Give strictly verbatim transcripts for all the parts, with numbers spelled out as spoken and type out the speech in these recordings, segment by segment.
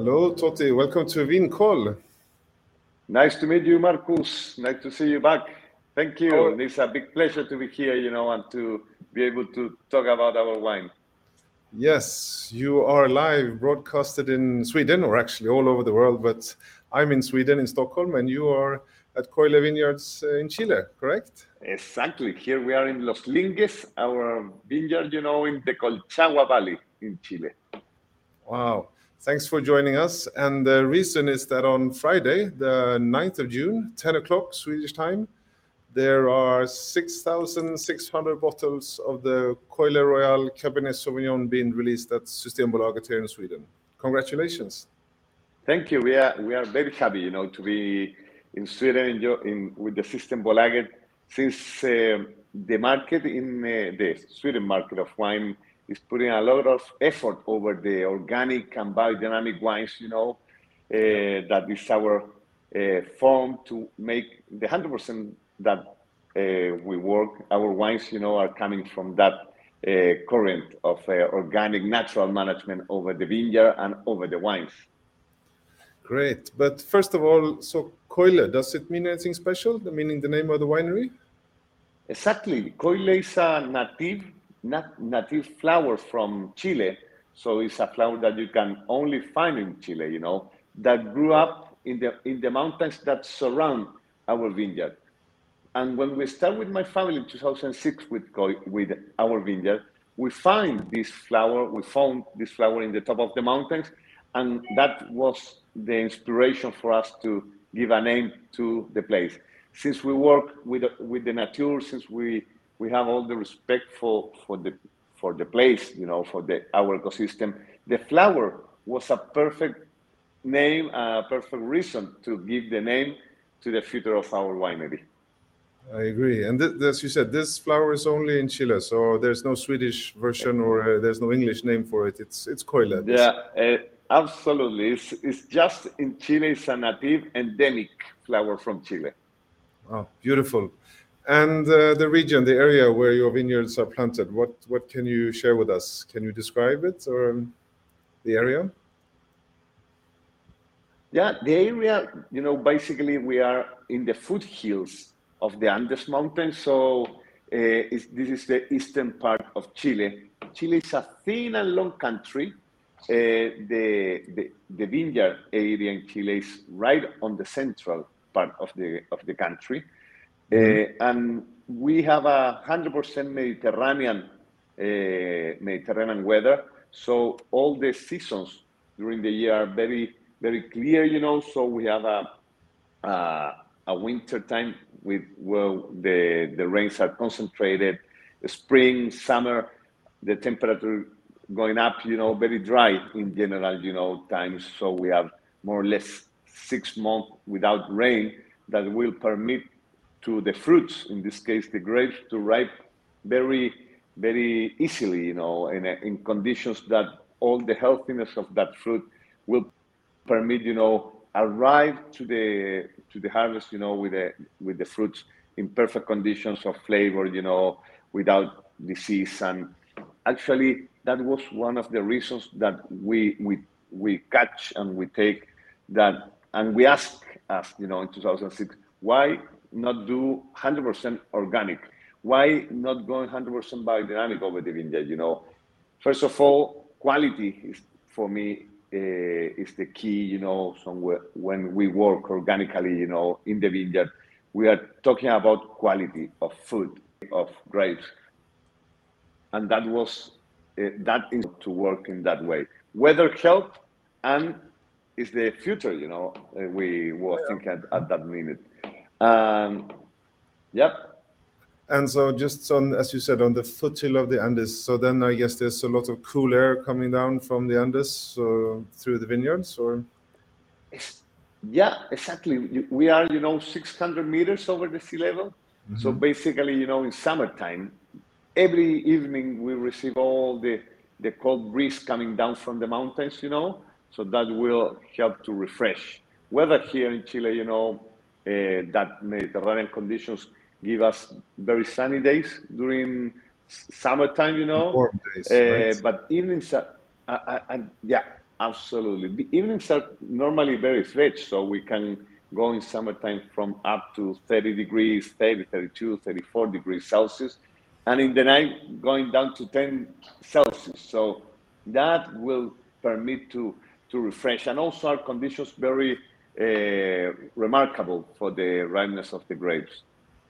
Hello, Totti. Welcome to Vinkoll. Nice to meet you, Marcus. Nice to see you back. Thank you. Oh. It's a big pleasure to be here, you know, and to be able to talk about our wine. Yes, you are live broadcasted in Sweden, or actually all over the world, but I'm in Sweden, in Stockholm, and you are at Coile Vineyards in Chile, correct? Exactly. Here we are in Los Linges, our vineyard, you know, in the Colchagua Valley in Chile. Wow. Thanks for joining us. And the reason is that on Friday, the ninth of June, ten o'clock Swedish time, there are six thousand six hundred bottles of the Coile Royal Cabernet Sauvignon being released at Systembolaget here in Sweden. Congratulations. Thank you. We are we are very happy, you know, to be in Sweden in, in with the Systembolaget, since uh, the market in uh, the Sweden market of wine is putting a lot of effort over the organic and biodynamic wines, you know, uh, that is our uh, form to make the one hundred percent that uh, we work. Our wines, you know, are coming from that uh, current of uh, organic, natural management over the vineyard and over the wines. Great. But first of all, so Coile, does it mean anything special, meaning the name of the winery? Exactly. Coile is a native, nat native flower from Chile. So it's a flower that you can only find in Chile, you know, that grew up in the, in the mountains that surround our vineyard. And when we started with my family in two thousand six with, with our vineyard, we find this flower, we found this flower in the top of the mountains, and that was the inspiration for us to give a name to the place. Since we work with, with the nature, since we, we have all the respect for, for, the, for the place, you know, for the, our ecosystem, the flower was a perfect name, a perfect reason to give the name to the future of our winery. I agree. And th as you said, this flower is only in Chile, so there's no Swedish version or uh, there's no English name for it. It's it's Coile. Yeah, uh, absolutely. It's, it's just in Chile, it's a native endemic flower from Chile. Oh, beautiful. And uh, the region, the area where your vineyards are planted, what, what can you share with us? Can you describe it or um, the area? Yeah, the area, you know, basically we are in the foothills of the Andes Mountains. So uh, this is the eastern part of Chile. Chile is a thin and long country. Uh, the, the, the vineyard area in Chile is right on the central part of the, of the country. Mm-hmm. uh, and we have a one hundred percent Mediterranean, uh, Mediterranean weather. So all the seasons during the year are very, very clear, you know. So we have a, a a winter time with well the the rains are concentrated, spring, summer, the temperature going up, you know, very dry in general, you know, times. So we have more or less six months without rain that will permit to the fruits, in this case the grapes, to ripe very very easily, you know, in, in conditions that all the healthiness of that fruit will permit, you know, arrive to the to the harvest, you know, with the with the fruits in perfect conditions of flavor, you know, without disease. And actually, that was one of the reasons that we we we catch and we take that, and we ask us, you know, in two thousand six, why not do one hundred percent organic? Why not go one hundred percent biodynamic over the vineyard? You know, first of all, quality is for me. Uh, is the key, you know, somewhere when we work organically, you know, in the vineyard, we are talking about quality of food, of grapes. And that was, uh, that is to work in that way. Weather help and is the future, you know, uh, we were thinking at, at that minute. Um, yep. And so just on, as you said, on the foothill of the Andes, so then I guess there's a lot of cool air coming down from the Andes so through the vineyards, or? Yeah, exactly. We are, you know, six hundred meters over the sea level. Mm-hmm. So basically, you know, in summertime, every evening we receive all the, the cold breeze coming down from the mountains, you know, so that will help to refresh. Weather here in Chile, you know, uh, that Mediterranean conditions give us very sunny days during summertime, you know. Warm days, uh, right? But evenings, uh, uh, and yeah, Absolutely. The evenings are normally very fresh, so we can go in summertime from up to thirty degrees, thirty, thirty-two, thirty-four degrees Celsius, and in the night going down to ten Celsius. So that will permit to, to refresh. And also our conditions very uh, remarkable for the ripeness of the grapes.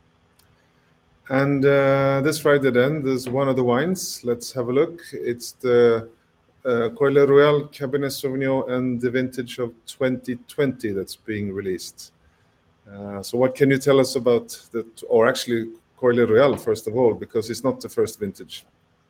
And uh, this Friday then, there's one of the wines. Let's have a look. It's the uh, Coile Royal Cabernet Sauvignon and the vintage of twenty twenty that's being released. Uh, so what can you tell us about that, or actually Coile Royal first of all, because it's not the first vintage?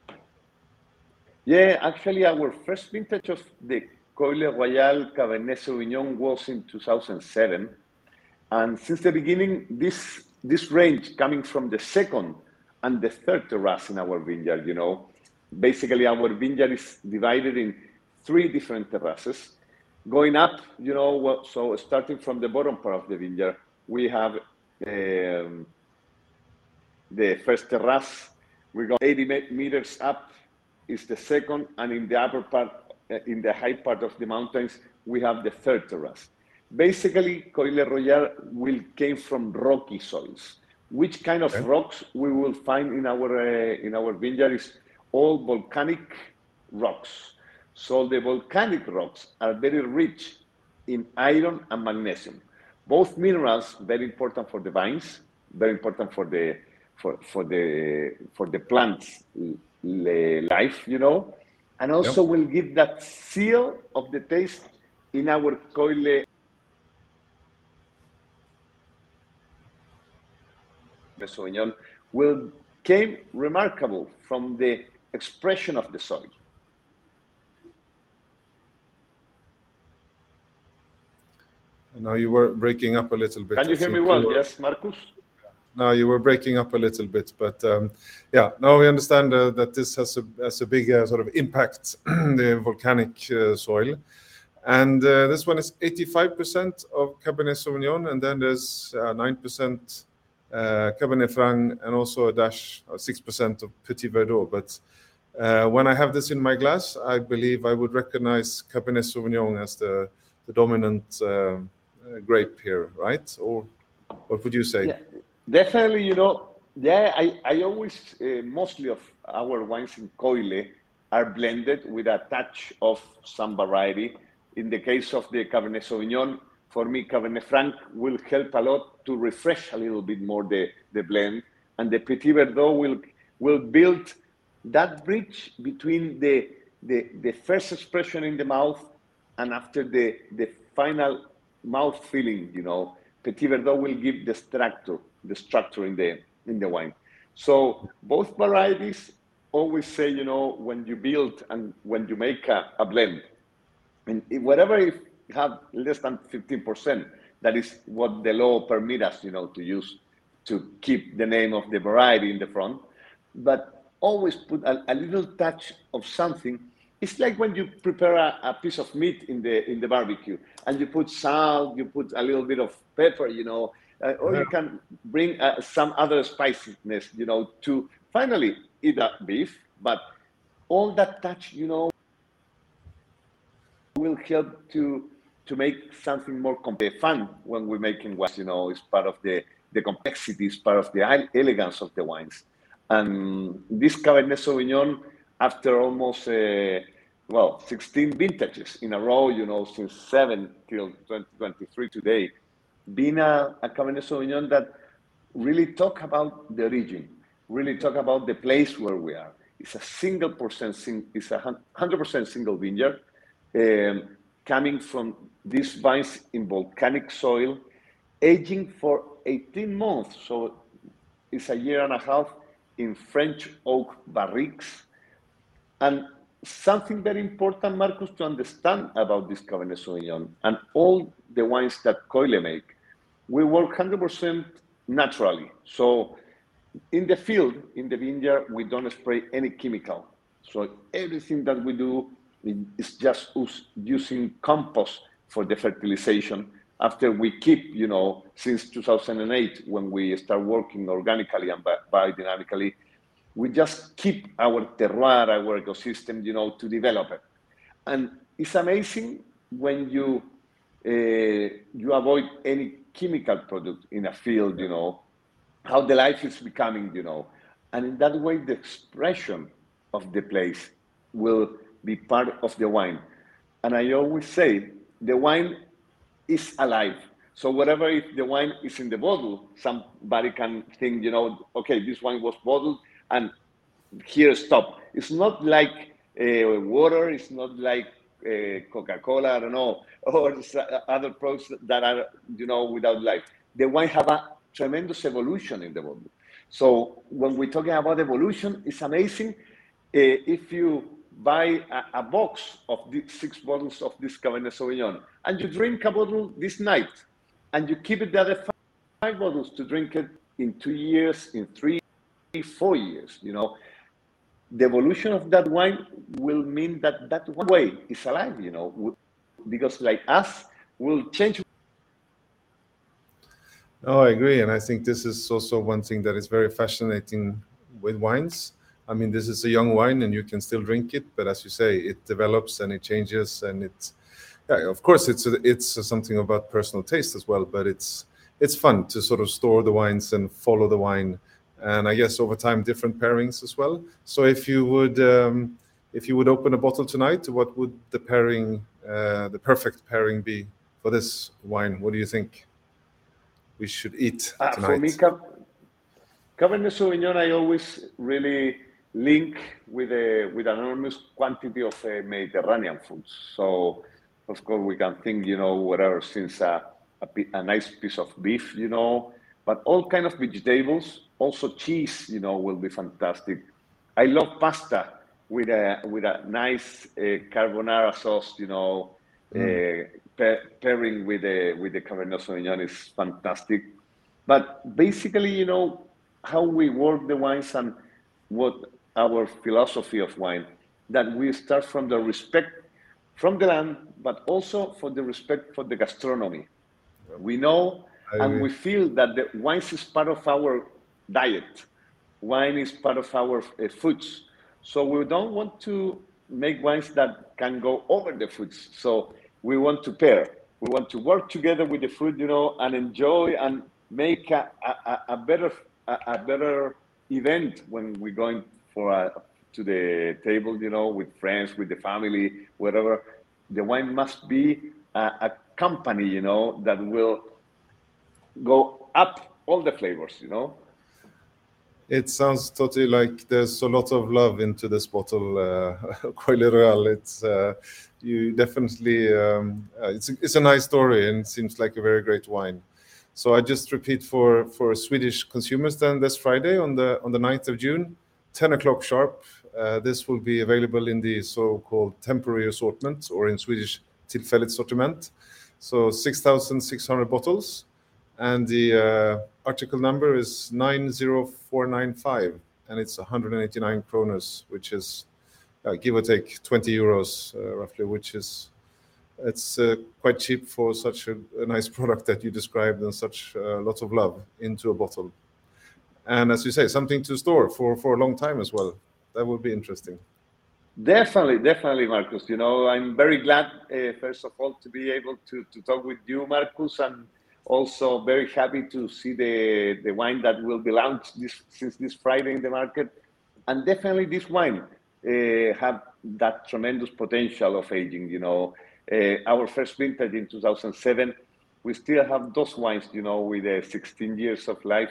Yeah, actually our first vintage of the Coile Royal Cabernet Sauvignon was in two thousand seven. And since the beginning, this this range coming from the second and the third terrace in our vineyard, you know, basically our vineyard is divided in three different terraces. Going up, you know, so starting from the bottom part of the vineyard, we have um, the first terrace. We go eighty meters up is the second, and in the upper part, in the high part of the mountains, we have the third terrace. Basically, Coile Royal will came from rocky soils. Which kind of okay. rocks we will find in our uh, in our vineyard is all volcanic rocks. So the volcanic rocks are very rich in iron and magnesium. Both minerals very important for the vines, very important for the for for the for the plants life, you know, and also yep. will give that seal of the taste in our Coile Sauvignon will came remarkable from the expression of the soil. Now you were breaking up a little bit. Can you hear me well? Were... Yes, Marcus? No, you were breaking up a little bit, but um, yeah, now we understand uh, that this has a, has a big uh, sort of impact, the volcanic uh, soil. And uh, this one is eighty-five percent of Cabernet Sauvignon, and then there's uh, nine percent uh, Cabernet Franc, and also a dash, uh, six percent of Petit Verdot. But uh, when I have this in my glass, I believe I would recognize Cabernet Sauvignon as the, the dominant uh, grape here, right? Or what would you say? Yeah, definitely, you know, yeah, I, I always, uh, mostly of our wines in Coile are blended with a touch of some variety. In the case of the Cabernet Sauvignon, for me, Cabernet Franc will help a lot to refresh a little bit more the, the blend. And the Petit Verdot will, will build that bridge between the, the, the first expression in the mouth and after the, the final mouth feeling, you know. Petit Verdot will give the structure, the structure in the, in the wine. So both varieties always say, you know, when you build and when you make a, a blend, and whatever you have less than fifteen percent, that is what the law permits us, you know, to use to keep the name of the variety in the front. But always put a, a little touch of something. It's like when you prepare a, a piece of meat in the in the barbecue, and you put salt, you put a little bit of pepper, you know, uh, or yeah. you can bring uh, some other spiciness, you know, to finally eat a beef. But all that touch, you know, will help to to make something more fun when we're making wines. You know, it's part of the the complexity, it's part of the elegance of the wines. And this Cabernet Sauvignon, after almost uh, well sixteen vintages in a row, you know, since seven till twenty twenty-three today, being a, a Cabernet Sauvignon that really talk about the region, really talk about the place where we are. It's a single percent, it's a hundred percent single vineyard. Um, coming from these vines in volcanic soil, aging for eighteen months. So it's a year and a half in French oak barriques. And something very important, Marcus, to understand about this Cabernet Sauvignon and all the wines that Coile make, we work one hundred percent naturally. So in the field, in the vineyard, we don't spray any chemical. So everything that we do is just us using compost for the fertilization. After we keep, you know, since two thousand eight, when we start working organically and biodynamically, we just keep our terroir, our ecosystem, you know, to develop it. and it's amazing when you uh, you avoid any chemical product in a field, you know, how the life is becoming, you know, and in that way the expression of the place will be part of the wine. And I always say the wine is alive. So whatever if the wine is in the bottle, somebody can think, you know, okay, this wine was bottled and here stop. It's not like uh, water. It's not like uh, Coca-Cola. I don't know, or other products that are, you know, without life. The wine have a tremendous evolution in the bottle. So when we're talking about evolution, it's amazing. Uh, if you buy a, a box of the six bottles of this Cabernet Sauvignon and you drink a bottle this night and you keep it the other five, five bottles to drink it in two years, in three, four years, you know, the evolution of that wine will mean that that one way is alive, you know, because like us will change. Oh, I agree. And I think this is also one thing that is very fascinating with wines. I mean, this is a young wine and you can still drink it, but as you say, it develops and it changes, and it's, yeah, of course, it's a, it's a something about personal taste as well, but it's it's fun to sort of store the wines and follow the wine, and I guess over time different pairings as well. So if you would um, if you would open a bottle tonight, what would the pairing, uh, the perfect pairing be for this wine? What do you think we should eat Uh, tonight? for me, Cabernet Sauvignon, I always really link with a with an enormous quantity of uh, Mediterranean foods. So, of course, we can think, you know, whatever, since a, a, a nice piece of beef, you know, but all kind of vegetables, also cheese, you know, will be fantastic. I love pasta with a with a nice uh, carbonara sauce, you know, mm. uh, pa- pairing with the with the Cabernet Sauvignon is fantastic. But basically, you know, how we work the wines and what our philosophy of wine, that we start from the respect from the land, but also for the respect for the gastronomy. We know and we feel that the wines is part of our diet. Wine is part of our uh, foods. So we don't want to make wines that can go over the foods. So we want to pair. We want to work together with the food, you know, and enjoy and make a, a, a better a, a better event when we're going for a, to the table, you know, with friends, with the family, whatever. The wine must be a, a company, you know, that will go up all the flavors, you know. It sounds totally like there's a lot of love into this bottle, uh, quite literal. It's uh, you definitely um, uh, it's a, it's a nice story and it seems like a very great wine. So I just repeat for for Swedish consumers then this Friday on the on the ninth of June, ten o'clock sharp. Uh, this will be available in the so-called temporary assortment, or in Swedish tillfälligt sortiment. So six thousand six hundred bottles. And the uh, article number is nine zero four nine five, and it's one hundred eighty-nine kroners, which is uh, give or take twenty euros uh, roughly, which is it's uh, quite cheap for such a, a nice product that you described and such uh, lots of love into a bottle. And as you say, something to store for, for a long time as well. That would be interesting. Definitely, definitely, Marcus. You know, I'm very glad, uh, first of all, to be able to, to talk with you, Marcus, and also very happy to see the, the wine that will be launched this, since this Friday in the market. And definitely this wine uh, have that tremendous potential of aging, you know. Uh, our first vintage in two thousand seven, we still have those wines, you know, with uh, sixteen years of life.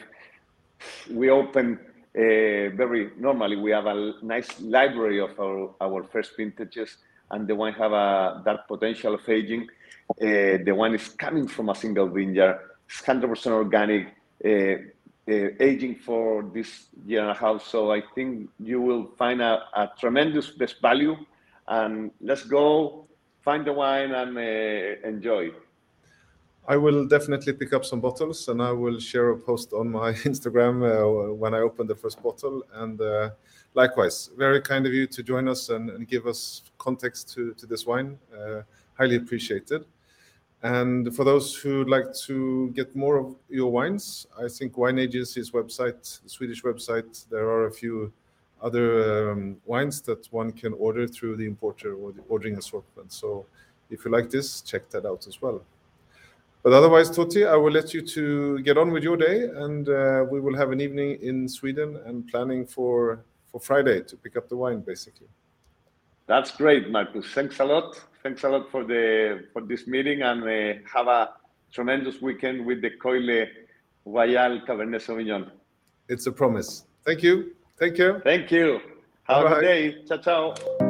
We open uh, very normally, we have a nice library of our, our first vintages, and the wine have a, that potential of aging. Uh, the wine is coming from a single vineyard. It's one hundred percent organic, uh, uh, aging for this year and a half. So I think you will find a, a tremendous best value. And let's go find the wine and uh, enjoy. I will definitely pick up some bottles, and I will share a post on my Instagram uh, when I open the first bottle. And uh, likewise, very kind of you to join us and, and give us context to, to this wine. Uh, highly appreciated. And for those who would like to get more of your wines, I think Wine Agency's website, the Swedish website, there are a few other um, wines that one can order through the importer or the ordering assortment. So if you like this, check that out as well. But otherwise, Totti, I will let you to get on with your day, and uh, we will have an evening in Sweden and planning for, for Friday to pick up the wine, basically. That's great, Marcus. Thanks a lot. Thanks a lot for the for this meeting, and uh, have a tremendous weekend with the Coile Royal Cabernet Sauvignon. It's a promise. Thank you. Take care. Thank you. Have Bye-bye. a good day. Ciao, ciao.